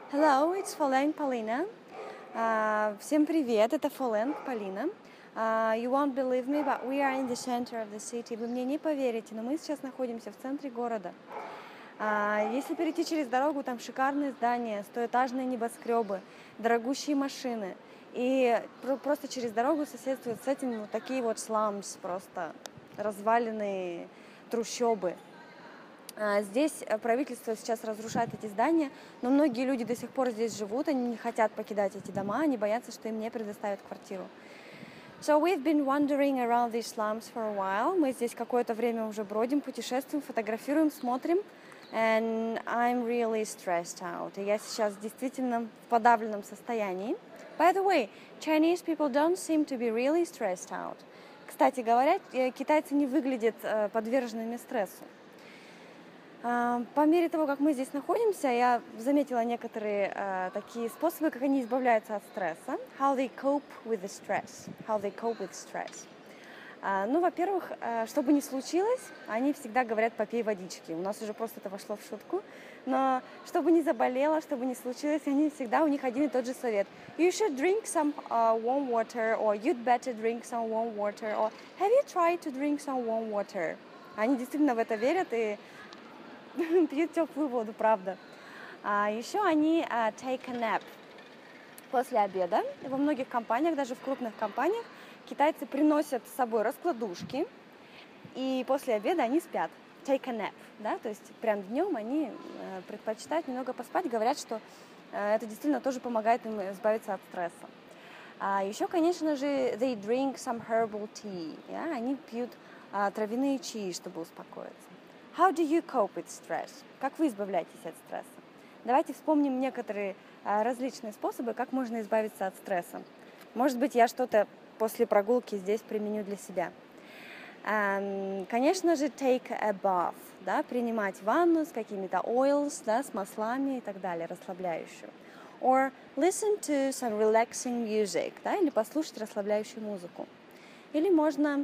Hello, it's Folenk Polina. Всем привет, это Folenk Polina. You won't believe me, but we are in the center of the city. Вы мне не поверите, но мы сейчас находимся в центре города. Если перейти через дорогу, там шикарные здания, стоэтажные небоскребы, дорогущие машины. И просто через дорогу соседствуют с этим вот такие вот сламс, просто разваленные трущобы. Здесь правительство сейчас разрушает эти здания, но многие люди до сих пор здесь живут, они не хотят покидать эти дома, они боятся, что им не предоставят квартиру. So we've been wandering around these slums for a while. Мы здесь какое-то время уже бродим, путешествуем, фотографируем, смотрим. And I'm really stressed out. И я сейчас действительно в подавленном состоянии. By the way, Chinese people don't seem to be really stressed out. Кстати говоря, китайцы не выглядят подверженными стрессу. По мере того, как мы здесь находимся, я заметила некоторые такие способы, как они избавляются от стресса. How they cope with the stress. How they cope with stress. Ну, во-первых, что бы ни случилось, они всегда говорят «попей водички». У нас уже просто это вошло в шутку. Но что бы ни заболело, что бы ни случилось, они всегда, у них один и тот же совет. You should drink some warm water, or you'd better drink some warm water, or have you tried to drink some warm water? Они действительно в это верят и пьют теплую воду, правда. Еще они take a nap. После обеда во многих компаниях, даже в крупных компаниях, китайцы приносят с собой раскладушки, и после обеда они спят. Take a nap, да, то есть прям днем они предпочитают немного поспать, говорят, что это действительно тоже помогает им избавиться от стресса. Еще, конечно же, they drink some herbal tea, yeah? Они пьют травяные чаи, чтобы успокоиться. How do you cope with stress? Как вы избавляетесь от стресса? Давайте вспомним некоторые различные способы, как можно избавиться от стресса. Может быть, я что-то после прогулки здесь применю для себя. Конечно же, take a bath, да, принимать ванну с какими-то oils, да, с маслами и так далее, расслабляющую. Or listen to some relaxing music, да, или послушать расслабляющую музыку. Или можно...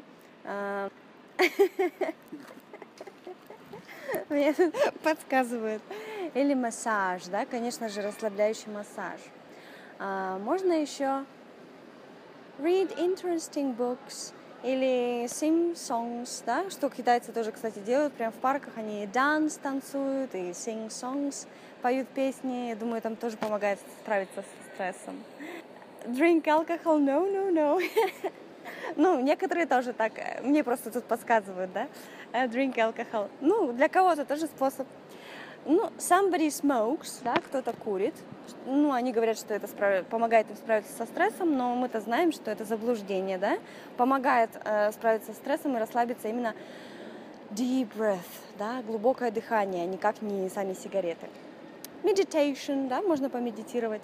Мне тут подсказывают. Или массаж, да, конечно же, расслабляющий массаж. Можно еще read interesting books или sing songs, да, что китайцы тоже, кстати, делают. Прямо в парках они dance, танцуют, и sing songs, поют песни. Я думаю, там тоже помогает справиться с стрессом. Drink alcohol? No, no, no. Ну, некоторые тоже так, мне просто тут подсказывают, да, drink alcohol. Ну, для кого-то тоже способ. Ну, somebody smokes, да, кто-то курит. Ну, они говорят, что это помогает им справиться со стрессом, но мы-то знаем, что это заблуждение, да. Помогает справиться со стрессом и расслабиться именно deep breath, да, глубокое дыхание, никак не сами сигареты. Meditation, да, можно помедитировать.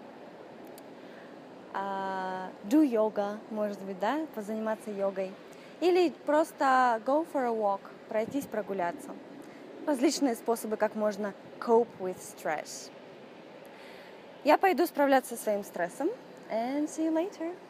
Do yoga, может быть, да, позаниматься йогой. Или просто go for a walk, пройтись, прогуляться. Различные способы, как можно cope with stress. Я пойду справляться со своим стрессом. And see you later.